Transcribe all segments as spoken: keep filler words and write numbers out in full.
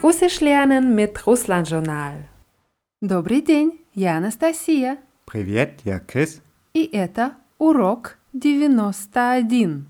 Russisch lernen mit Russland-Journal. Добрый день, я Анастасия. Привет, я Chris. И это урок девяносто один.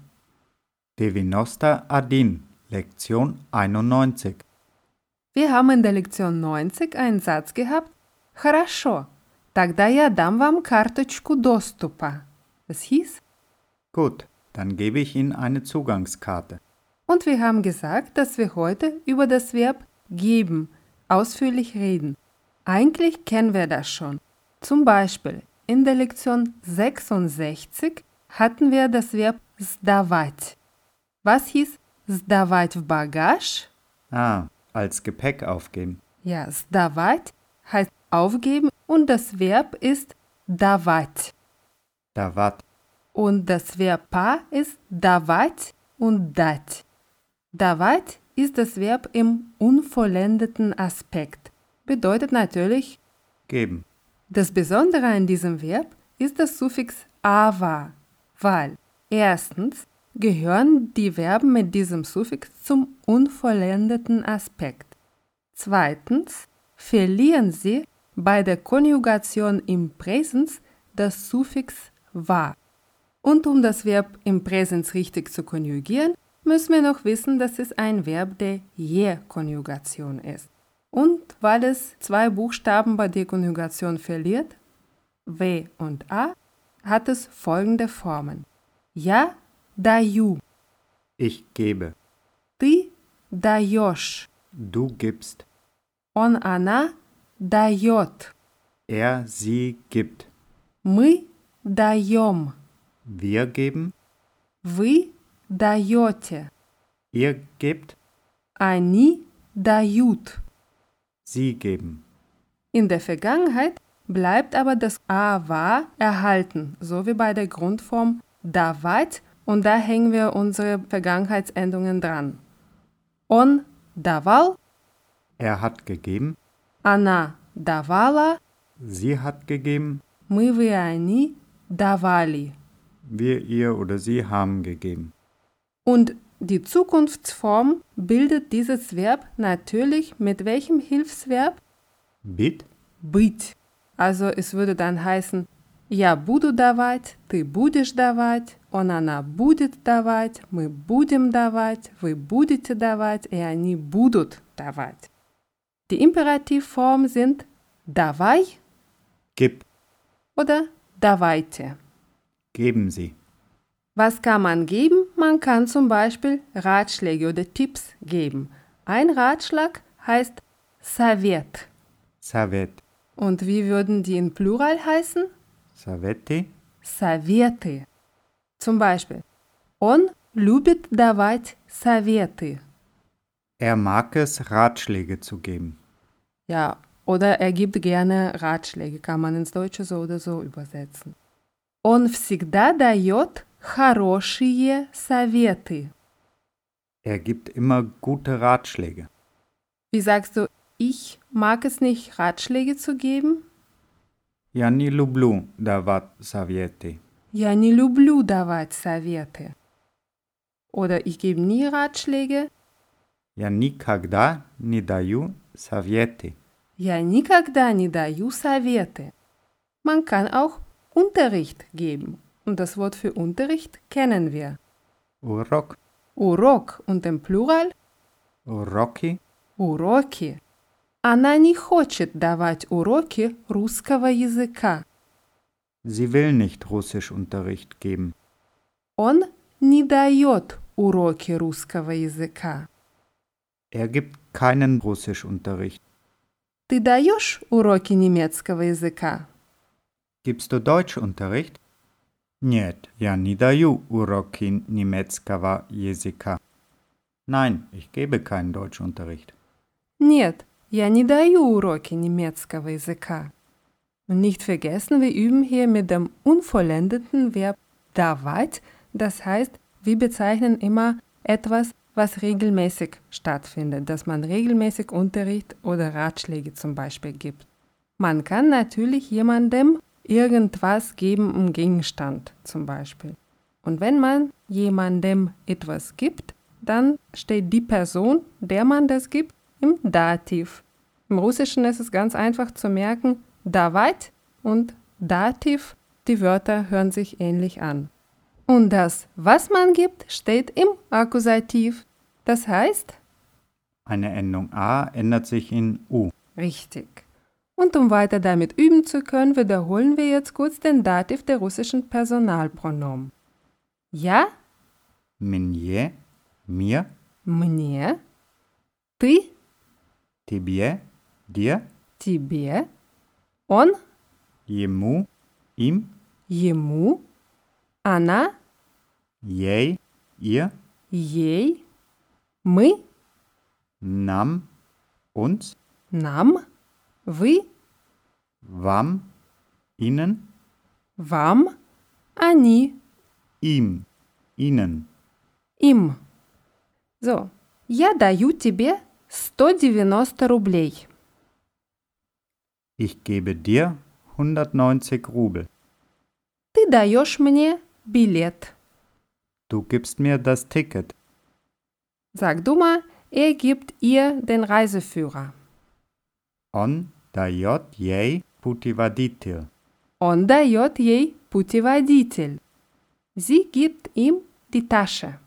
девяносто один, Lektion einundneunzig. Wir haben in der Lektion neunzig einen Satz gehabt. Хорошо, тогда я дам вам карточку доступа. Das hieß? Gut, dann gebe ich Ihnen eine Zugangskarte. Und wir haben gesagt, dass wir heute über das Verb geben ausführlich reden. Eigentlich kennen wir das schon. Zum Beispiel in der Lektion sechsundsechzig hatten wir das Verb сдавать. Was hieß сдавать в багаж? Ah, als Gepäck aufgeben. Ja, сдавать heißt aufgeben und das Verb ist давать. Давать. Und das Verb pa ist давать und дать. Давать ist das Verb im unvollendeten Aspekt. Bedeutet natürlich Geben. Das Besondere an diesem Verb ist das Suffix ava, weil erstens gehören die Verben mit diesem Suffix zum unvollendeten Aspekt. Zweitens verlieren sie bei der Konjugation im Präsens das Suffix va. Und um das Verb im Präsens richtig zu konjugieren, müssen wir noch wissen, dass es ein Verb der Je-Konjugation ist. Und weil es zwei Buchstaben bei der Konjugation verliert, W und A, hat es folgende Formen. Я даю. Ich gebe. Ты даешь. Du gibst. Он, она дает. Er, sie gibt. Мы даем. Wir geben. Вы даете. Ihr gebt. Они дают. Sie geben. In der Vergangenheit bleibt aber das ава erhalten, so wie bei der Grundform давать, und da hängen wir unsere Vergangenheitsendungen dran. Он давал, Er hat gegeben. она давала, Sie hat gegeben. мы, вы, они давали. Wir, ihr oder sie haben gegeben. Und die Zukunftsform bildet dieses Verb natürlich mit welchem Hilfsverb? Bit. Быть. Also es würde dann heißen, я буду давать, ты будешь давать, он, она будет давать, мы будем давать, вы будете давать, и они будут давать. Die Imperativform sind давай Gib. oder давайте. Geben Sie. Was kann man geben? Man kann zum Beispiel Ratschläge oder Tipps geben. Ein Ratschlag heißt совет. Совет. Und wie würden die in Plural heißen? Советы. Советы. Zum Beispiel, он любит давать советы. Er mag es, Ratschläge zu geben. Ja, oder er gibt gerne Ratschläge, kann man ins Deutsche so oder so übersetzen. Он всегда дает хорошие советы. Er gibt immer gute Ratschläge. Wie sagst du, ich mag es nicht, Ratschläge zu geben? Я не люблю давать советы. Я не люблю давать советы. Oder ich gebe nie Ratschläge. Я никогда не даю советы. Я никогда не даю советы. Man kann auch Unterricht geben. Und das Wort für Unterricht kennen wir. Урок. Урок und im Plural Уроки. уроки. Она не хочет давать уроки русского языка. Sie will nicht Russischunterricht geben. Он не дает уроки русского языка. Er gibt keinen Russischunterricht. Ты даешь уроки немецкого языка? Gibst du Deutschunterricht? Нет, я не даю уроки немецкого языка. Nein, ich gebe keinen Deutschunterricht. Нет, я не даю уроки немецкого языка. Und nicht vergessen, wir üben hier mit dem unvollendeten Verb давать. Das heißt, wir bezeichnen immer etwas, was regelmäßig stattfindet, dass man regelmäßig Unterricht oder Ratschläge zum Beispiel gibt. Man kann natürlich jemandem irgendwas geben, einen Gegenstand zum Beispiel. Und wenn man jemandem etwas gibt, dann steht die Person, der man das gibt, im Dativ. Im Russischen ist es ganz einfach zu merken, давать und Dativ, die Wörter hören sich ähnlich an. Und das, was man gibt, steht im Akkusativ. Das heißt? Eine Endung A ändert sich in U. Richtig. Und um weiter damit üben zu können, wiederholen wir jetzt kurz den Dativ der russischen Personalpronomen. Я, Мне, mir, мне, ты, тебе, dir, тебе, он, ему, ihm, ему, она, ей, ihr, ей, мы, нам, uns, нам, вы, вам, ihnen, вам, они, ihm, ihnen. им. So, я даю тебе сто девяносто рублей. Ich gebe dir hundertneunzig Rubel. Ты даешь мне билет. Du gibst mir das Ticket. Sag du mal, er gibt ihr den Reiseführer. Он дает ей путеводитель. Он дает ей путеводитель. Sie gibt ihm die Tasche.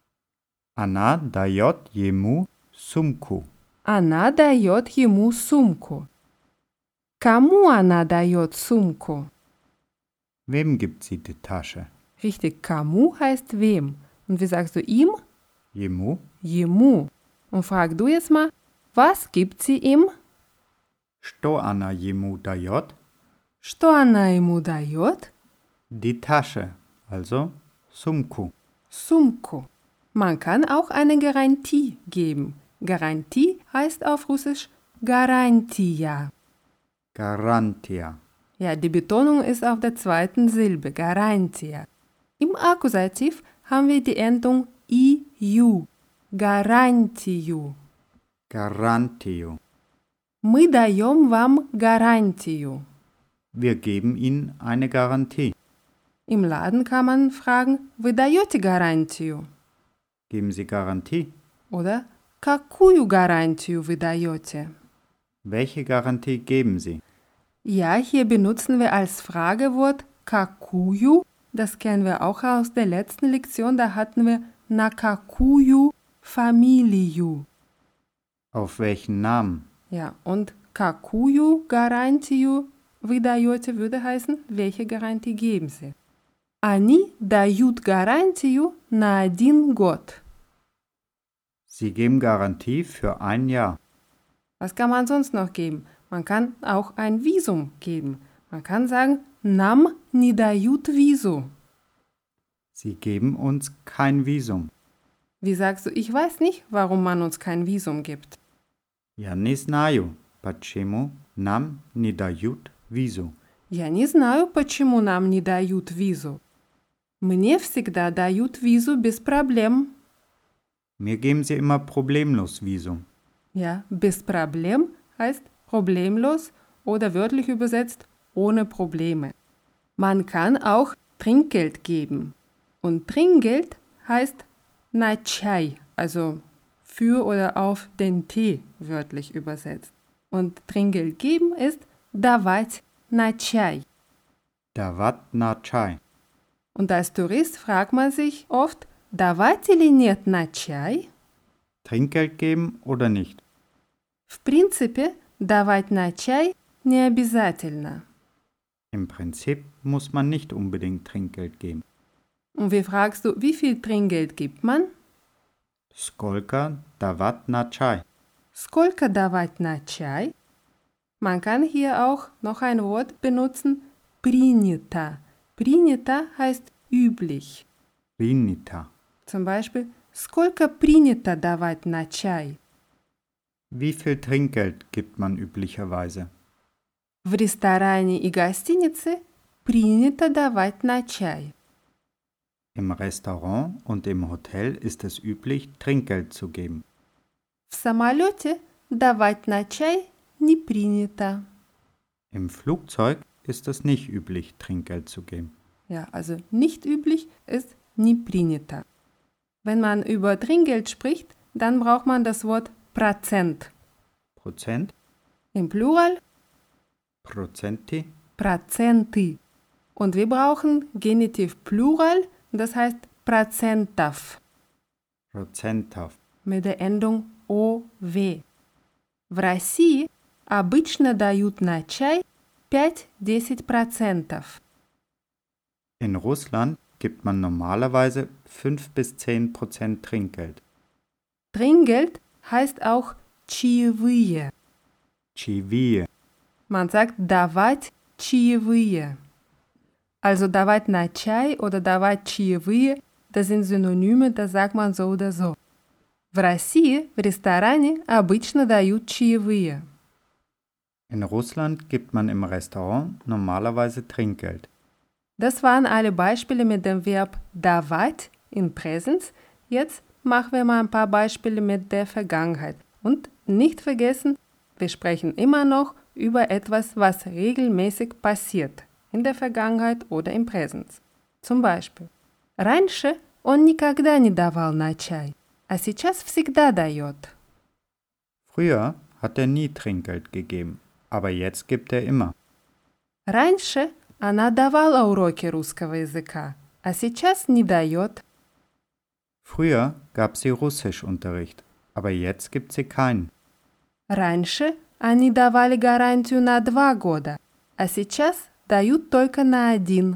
Она дает ему сумку. Она дает ему сумку. Кому она дает сумку? Wem gibt sie die Tasche? Richtig, кому heißt wem. Und wie sagst du ihm? Ему. Ему. Und frag du jetzt mal, was gibt sie ihm? Что она ему дает? Что она ему дает? Die Tasche, also сумку. Сумку. Man kann auch eine Garantie geben. Garantie heißt auf Russisch Гарантия. Гарантия. Ja, die Betonung ist auf der zweiten Silbe, Гарантия. Im Akkusativ haben wir die Endung iu, Гарантию. Гарантию. Мы даем вам гарантию. Wir geben ihnen eine Garantie. Im Laden kann man fragen, вы даете гарантию? Geben sie Garantie? Oder какую гарантию вы даете? Welche Garantie geben sie? Ja, hier benutzen wir als Fragewort какую. Das kennen wir auch aus der letzten Lektion. Da hatten wir на какую фамилию. Auf welchen Namen? Ja, und какую гарантию вы даете würde heißen, welche Garantie geben Sie? Они дают гарантию на один год. Sie geben Garantie für ein Jahr. Was kann man sonst noch geben? Man kann auch ein Visum geben. Man kann sagen, нам не дают визу. Sie geben uns kein Visum. Wie sagst du, ich weiß nicht, warum man uns kein Visum gibt. Я не знаю, почему нам не дают визу. Я не знаю, почему нам не дают визу. Мне всегда дают визу без проблем. Mir geben sie immer problemlos Visum. Ja, без проблем heißt problemlos oder wörtlich übersetzt ohne Probleme. Man kann auch Trinkgeld geben. Und Trinkgeld heißt на чай, also für oder auf den Tee wörtlich übersetzt. Und Trinkgeld geben ist давать на чай. Давать на чай. Und als Tourist fragt man sich oft, давать или нет на чай? Trinkgeld geben oder nicht? В принципе, давать на чай не обязательно. Im Prinzip muss man nicht unbedingt Trinkgeld geben. Und wie fragst du, wie viel Trinkgeld gibt man? Сколько давать на чай? Сколько давать на чай? Man kann hier auch noch ein Wort benutzen, принято. Принято heißt üblich. Принято. Zum Beispiel, сколько принято давать на чай? Wie viel Trinkgeld gibt man üblicherweise? В ресторане и гостинице принято давать на чай. Im Restaurant und im Hotel ist es üblich, Trinkgeld zu geben. В самолете давать на чай не принято. Im Flugzeug ist es nicht üblich, Trinkgeld zu geben. Ja, also nicht üblich ist не принято. Wenn man über Trinkgeld spricht, dann braucht man das Wort Prozent. Prozent, Im Plural Prozenti, Prozenti. Und wir brauchen Genitiv Plural, das heißt процентов Prozentов. mit der Endung ов. В России обычно дают на чай пять-десять процентов. In Russland gibt man normalerweise fünf bis zehn Prozent Trinkgeld. Trinkgeld heißt auch чаевые. Чаевые. Man sagt давать чаевые. Also давать на чай oder давать чаевые, das sind Synonyme, das sagt man so oder so. В России в ресторане обычно дают чаевые. In Russland gibt man im Restaurant normalerweise Trinkgeld. Das waren alle Beispiele mit dem Verb давать in Präsens. Jetzt machen wir mal ein paar Beispiele mit der Vergangenheit. Und nicht vergessen, wir sprechen immer noch über etwas, was regelmäßig passiert, in der Vergangenheit oder im Präsens. Zum Beispiel, раньше он никогда не давал на чай, а сейчас всегда дает. Früher hat er nie Trinkgeld gegeben, aber jetzt gibt er immer. Раньше она давала уроки русского языка, а сейчас не дает. Früher gab sie Russischunterricht, aber jetzt gibt sie keinen. Раньше они давали гарантию на два года, а сейчас дают только на один.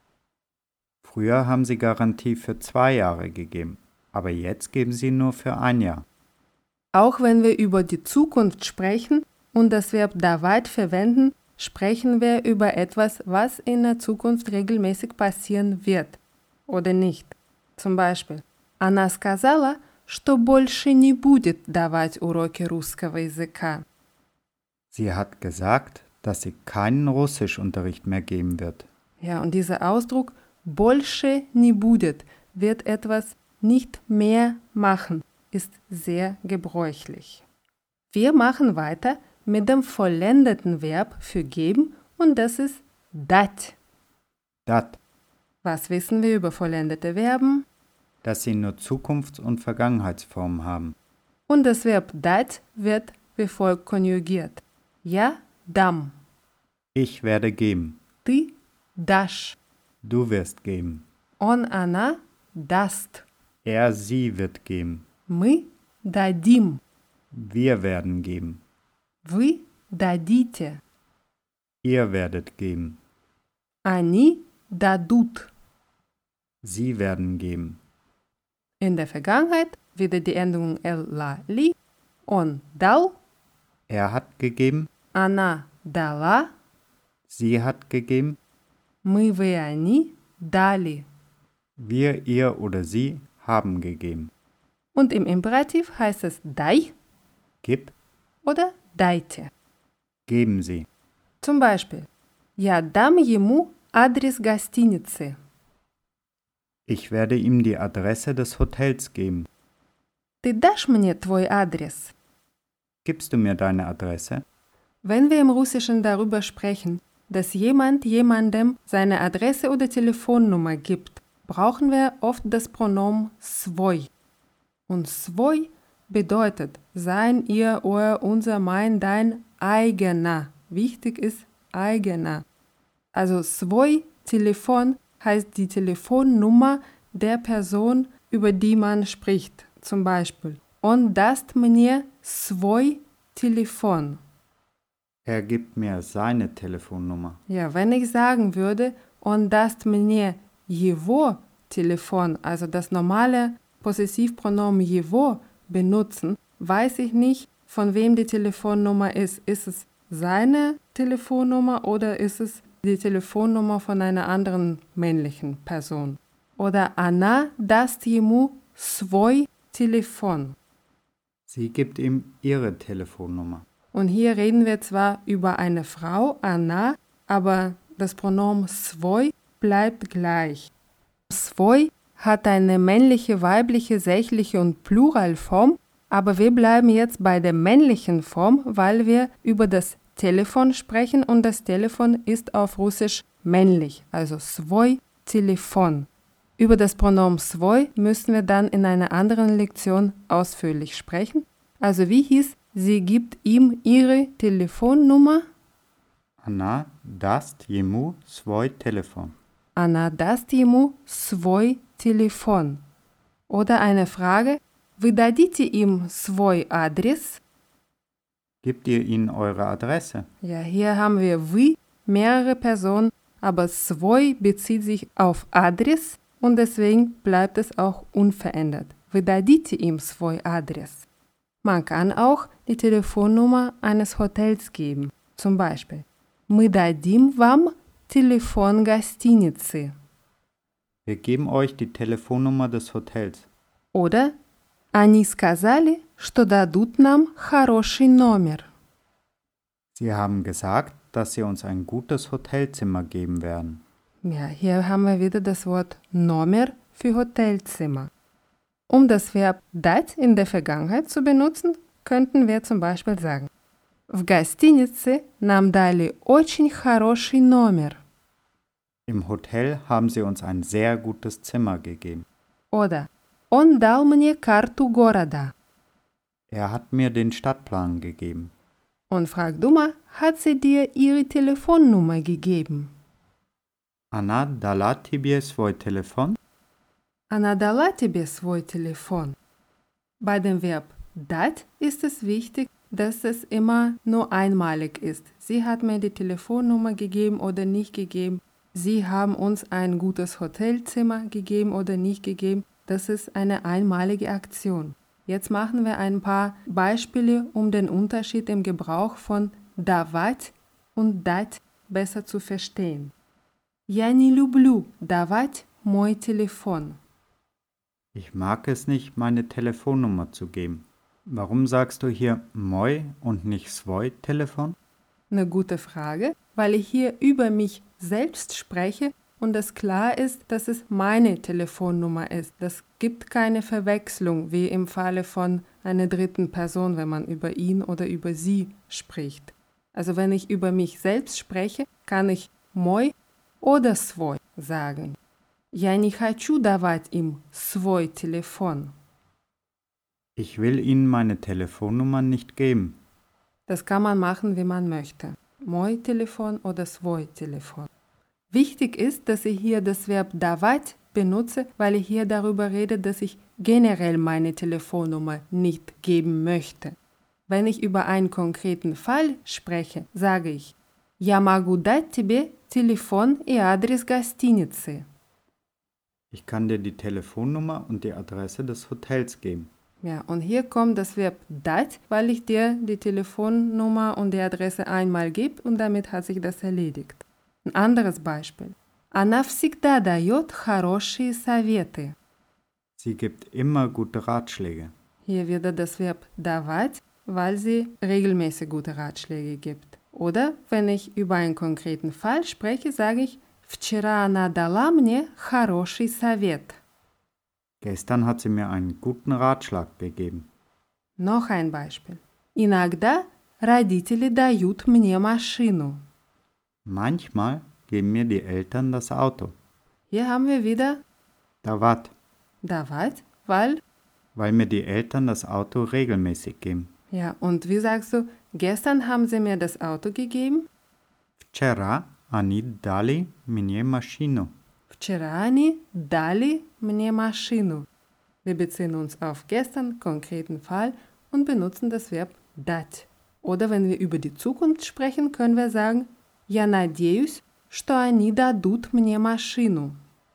Früher haben sie Garantie für zwei Jahre gegeben, aber jetzt geben sie nur für ein Jahr. Auch wenn wir über die Zukunft sprechen und das Verb давать verwenden, sprechen wir über etwas, was in der Zukunft regelmäßig passieren wird oder nicht. Zum Beispiel, она сказала, что больше не будет давать уроки русского языка. Sie hat gesagt, dass sie keinen Russischunterricht mehr geben wird. Ja, und dieser Ausdruck больше не будет wird etwas nicht mehr machen, ist sehr gebräuchlich. Wir machen weiter mit dem vollendeten Verb für geben und das ist dать. Dat, Was wissen wir über vollendete Verben? dass sie nur Zukunfts- und Vergangenheitsformen haben. Und das Verb dать wird wie folgt konjugiert. Я дам, Ich werde geben, ты дашь, du wirst geben. он, она даст, Er, sie wird geben. мы дадим, Wir werden geben. вы дадите, Ihr werdet geben. они дадут. Sie werden geben. In der Vergangenheit wieder die Endung el, la, li. Он дал, Er hat gegeben, она дала, sie hat gegeben, мы, вы, они дали. wir, ihr oder sie haben gegeben. Und im Imperativ heißt es дай Gib, oder дайте. geben sie. Zum Beispiel, я дам ему адрес гостиницы. Ich werde ihm die Adresse des Hotels geben. Ты дашь мне твой адрес? Gibst du mir deine Adresse? Wenn wir im Russischen darüber sprechen, dass jemand jemandem seine Adresse oder Telefonnummer gibt, brauchen wir oft das Pronomen свой. Und свой bedeutet sein, ihr, euer, unser, mein, dein, eigener. Wichtig ist eigener. Also свой Telefon heißt die Telefonnummer der Person, über die man spricht. Zum Beispiel, он даст мне свой телефон. Er gibt mir seine Telefonnummer. Ja, wenn ich sagen würde, он даст мне его Telefon, also das normale Possessivpronomen его benutzen, weiß ich nicht, von wem die Telefonnummer ist. Ist es seine Telefonnummer oder ist es die Telefonnummer von einer anderen männlichen Person? Oder она даст ему свой телефон. Sie gibt ihm ihre Telefonnummer. Und hier reden wir zwar über eine Frau, она, aber das Pronomen свой bleibt gleich. Свой hat eine männliche, weibliche, sächliche und Pluralform, aber wir bleiben jetzt bei der männlichen Form, weil wir über das Telefon sprechen und das Telefon ist auf Russisch männlich, also свой телефон. Über das Pronomen свой müssen wir dann in einer anderen Lektion ausführlich sprechen. Also wie hieß sie gibt ihm ihre Telefonnummer. Она даст ему свой телефон. Она даст ему свой телефон. Oder eine Frage, вы дадите им свой адрес? Gebt ihr ihnen eure Adresse? Ja, hier haben wir вы, mehrere Personen, aber свой bezieht sich auf Adress und deswegen bleibt es auch unverändert. Вы дадите им свой адрес. Man kann auch die Telefonnummer eines Hotels geben. Zum Beispiel, мы дадим вам телефон гостиницы. Wir geben euch die Telefonnummer des Hotels. Oder они сказали, что дадут нам хороший номер. Sie haben gesagt, dass sie uns ein gutes Hotelzimmer geben werden. Ja, hier haben wir wieder das Wort номер für Hotelzimmer. Um das Verb дать in der Vergangenheit zu benutzen, könnten wir zum Beispiel sagen: В гостинице нам дали очень хороший номер. Im Hotel haben sie uns ein sehr gutes Zimmer gegeben. Oder Он дал мне карту города. Er hat mir den Stadtplan gegeben. Und frag du mal, hat sie dir ihre Telefonnummer gegeben? Она дала тебе свой телефон? Она дала тебе свой телефон. Bei dem Verb dать ist es wichtig, dass es immer nur einmalig ist. Sie hat mir die Telefonnummer gegeben oder nicht gegeben. Sie haben uns ein gutes Hotelzimmer gegeben oder nicht gegeben. Das ist eine einmalige Aktion. Jetzt machen wir ein paar Beispiele, um den Unterschied im Gebrauch von давать und дать besser zu verstehen. Я не люблю давать мой телефон. Ich mag es nicht, meine Telefonnummer zu geben. Warum sagst du hier moj und nicht svoj Telefon? Eine gute Frage, weil ich hier über mich selbst spreche und es klar ist, dass es meine Telefonnummer ist. Das gibt keine Verwechslung, wie im Falle von einer dritten Person, wenn man über ihn oder über sie spricht. Also wenn ich über mich selbst spreche, kann ich мой oder свой sagen. Я не хочу давать им свой телефон. Ich will ihnen meine Telefonnummer nicht geben. Das kann man machen, wie man möchte. Мой телефон oder свой телефон. Wichtig ist, dass ich hier das Verb давать benutze, weil ich hier darüber rede, dass ich generell meine Telefonnummer nicht geben möchte. Wenn ich über einen konkreten Fall spreche, sage ich: Я могу дать тебе телефон и адрес гостиницы. Ich kann dir die Telefonnummer und die Adresse des Hotels geben. Ja, und hier kommt das Verb дать, weil ich dir die Telefonnummer und die Adresse einmal gebe und damit hat sich das erledigt. Ein anderes Beispiel. Она всегда дает хорошие советы. Sie gibt immer gute Ratschläge. Hier wieder das Verb давать, weil sie regelmäßig gute Ratschläge gibt. Oder wenn ich über einen konkreten Fall spreche, sage ich: Вчера она дала мне хороший совет. Gestern hat sie mir einen guten Ratschlag gegeben. Noch ein Beispiel. Иногда родители дают мне машину. Manchmal geben mir die Eltern das Auto. Hier haben wir wieder Давать, давать, weil, weil mir die Eltern das Auto regelmäßig geben. ja, und wie sagst du, gestern haben sie mir das Auto gegeben? Вчера они дали мне машину. Вчера они дали мне машину. Wir beziehen uns auf gestern, konkreten Fall und benutzen das Verb дать. Oder wenn wir über die Zukunft sprechen, können wir sagen: Я надеюсь, что они дадут мне машину.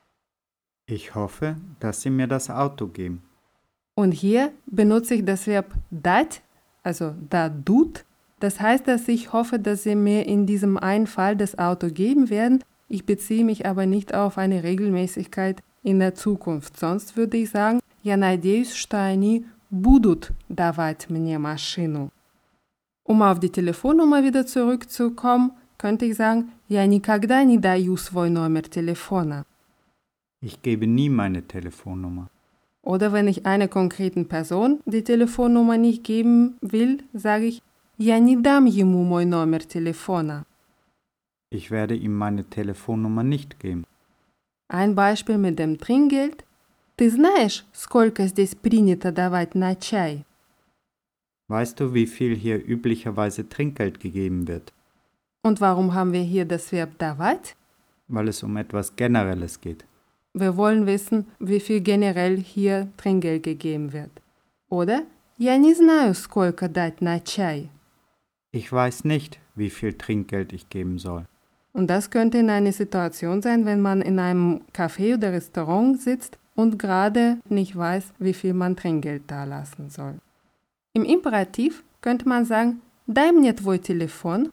Ich hoffe, dass sie mir das Auto geben. Und hier benutze ich das Verb дать, also дадут. Das heißt, dass ich hoffe, dass sie mir in diesem einen Fall das Auto geben werden. Ich beziehe mich aber nicht auf eine Regelmäßigkeit in der Zukunft. Sonst würde ich sagen: Я надеюсь, что они будут давать мне машину. Um auf die Telefonnummer wieder zurückzukommen, könnte ich sagen: Я никогда не даю свой номер телефона. Ich gebe nie meine Telefonnummer. Oder wenn ich einer konkreten Person die Telefonnummer nicht geben will, sage ich: Я не дам ему мой номер телефона. Ich werde ihm meine Telefonnummer nicht geben. Ein Beispiel mit dem Trinkgeld. Ты знаешь, сколько здесь принято давать на чай? Weißt du, wie viel hier üblicherweise Trinkgeld gegeben wird? Und warum haben wir hier das Verb давать? Weil es um etwas Generelles geht. Wir wollen wissen, wie viel generell hier Trinkgeld gegeben wird. Oder? Я не знаю, сколько дать на чай. Ich weiß nicht, wie viel Trinkgeld ich geben soll. Und das könnte in einer Situation sein, wenn man in einem Café oder Restaurant sitzt und gerade nicht weiß, wie viel man Trinkgeld dalassen soll. Im Imperativ könnte man sagen, дай мне твой телефон.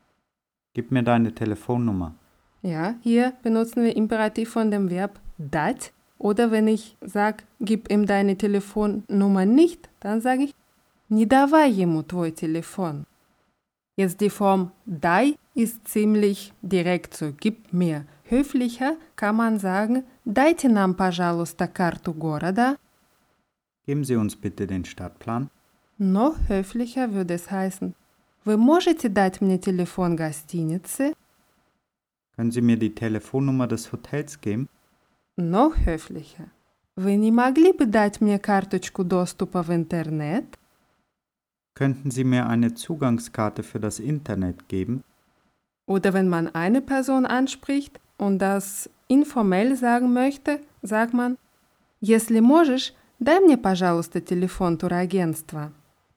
Gib mir deine Telefonnummer. Ja, hier benutzen wir Imperativ von dem Verb dать. Oder wenn ich sage, gib ihm deine Telefonnummer nicht, dann sage ich, не давай ему твой телефон. Jetzt die Form дай ist ziemlich direkt so, gib mir. Höflicher kann man sagen, дайте нам, пожалуйста, карту города. Geben Sie uns bitte den Stadtplan. Noch höflicher würde es heißen, вы можете дать мне телефон гостиницы? Können Sie mir die Telefonnummer des Hotels geben? Noch höflicher. Вы не могли бы дать мне карточку доступа в интернет? Könnten Sie mir eine Zugangskarte für das Internet geben? Oder wenn man eine Person anspricht und das informell sagen möchte, sagt man, если можешь, дай мне, пожалуйста, телефон турагентства.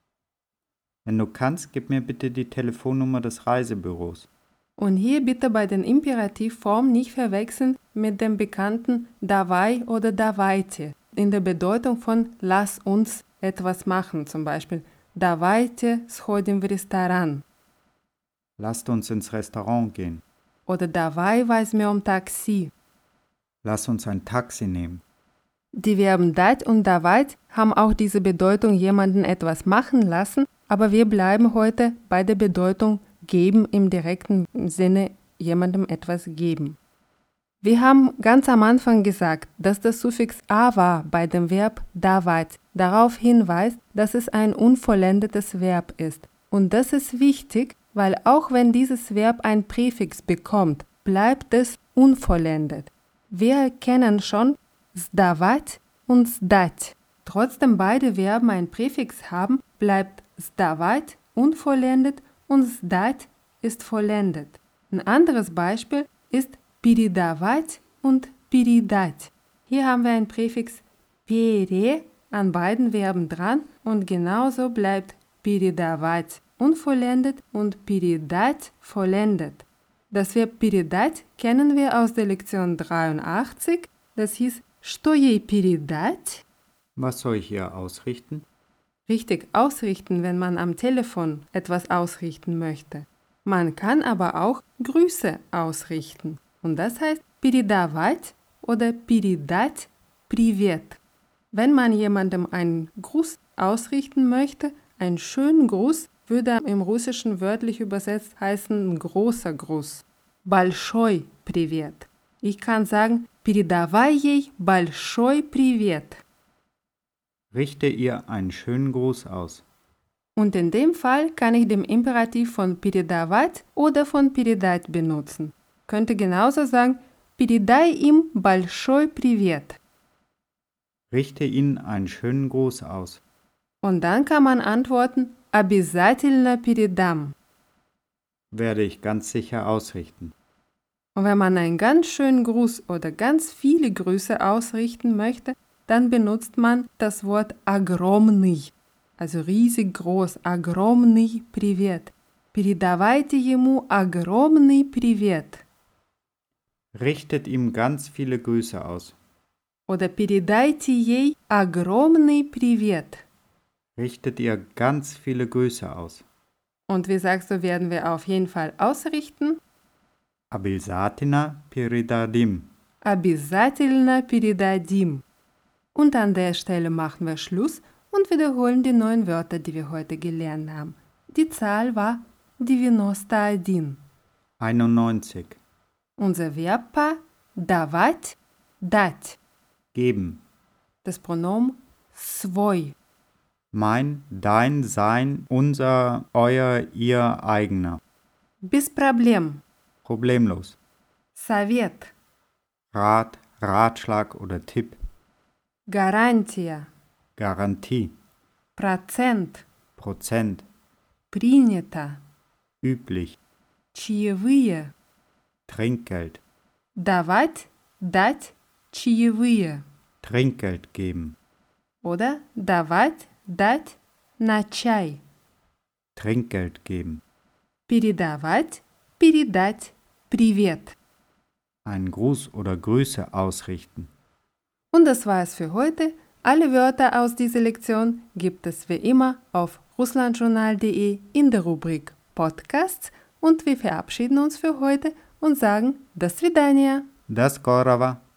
Wenn du kannst, gib mir bitte die Telefonnummer des Reisebüros. Und hier bitte bei den Imperativformen nicht verwechseln mit dem bekannten давай oder давайте in der Bedeutung von lass uns etwas machen, zum Beispiel давайте сходим в ресторан Lasst uns ins Restaurant gehen. oder давай возьмем такси. Lass uns ein Taxi nehmen. Die Verben dать und давать haben auch diese Bedeutung jemanden etwas machen lassen, aber wir bleiben heute bei der Bedeutung geben im direkten Sinne jemandem etwas geben. Wir haben ganz am Anfang gesagt, dass das Suffix ава bei dem Verb давать darauf hinweist, dass es ein unvollendetes Verb ist. Und das ist wichtig, weil auch wenn dieses Verb ein Präfix bekommt, bleibt es unvollendet. Wir erkennen schon сдавать und сдать. Trotzdem beide Verben ein Präfix haben, bleibt сдавать unvollendet und сдать ist vollendet. Ein anderes Beispiel ist передавать und передать. Hier haben wir ein Präfix пере an beiden Verben dran und genauso bleibt передавать unvollendet und передать vollendet. Das Verb передать kennen wir aus der Lektion dreiundachtzig. Das hieß, что ей передать? Was soll ich hier ausrichten? Richtig ausrichten, wenn man am Telefon etwas ausrichten möchte. Man kann aber auch Grüße ausrichten. Und das heißt передавать oder передать привет. Wenn man jemandem einen Gruß ausrichten möchte, einen schönen Gruß, würde im Russischen wörtlich übersetzt heißen großer Gruß. Большой привет. Ich kann sagen, передавай ей большой привет. Richte ihr einen schönen Gruß aus. Und in dem Fall kann ich den Imperativ von передавать oder von передать benutzen. Könnte genauso sagen, передай им большой привет. Richte ihnen einen schönen Gruß aus. Und dann kann man antworten, обязательно передам. Werde ich ganz sicher ausrichten. Und wenn man einen ganz schönen Gruß oder ganz viele Grüße ausrichten möchte, dann benutzt man das Wort огромный, also riesig groß, огромный привет. Передавайте ему огромный привет. Richtet ihm ganz viele Grüße aus. Oder передайте ей огромный привет. Richtet ihr ganz viele Grüße aus. Und wie sagst du, werden wir auf jeden Fall ausrichten? Обязательно передадим. Обязательно передадим. Und an der Stelle machen wir Schluss und wiederholen die neuen Wörter, die wir heute gelernt haben. Die Zahl war девяносто один. einundneunzig. Unser Verbpaar давать, дать. Geben. Das Pronomen свой. Mein, dein, sein, unser, euer, ihr, eigener. Без проблем. Problemlos. Совет. Rat, Ratschlag oder Tipp. Гарантия. Garantie. Процент. Prozent, принято, üblich, чаевые, Trinkgeld, давать, дать, чаевые. Trinkgeld geben, Oder давать, дать на чай. Trinkgeld geben, Передавать, передать, привет. einen Gruß oder Grüße ausrichten. Und das war es für heute. Alle Wörter aus dieser Lektion gibt es wie immer auf russlandjournal punkt de in der Rubrik Podcasts und wir verabschieden uns für heute und sagen До свидания. До скорого!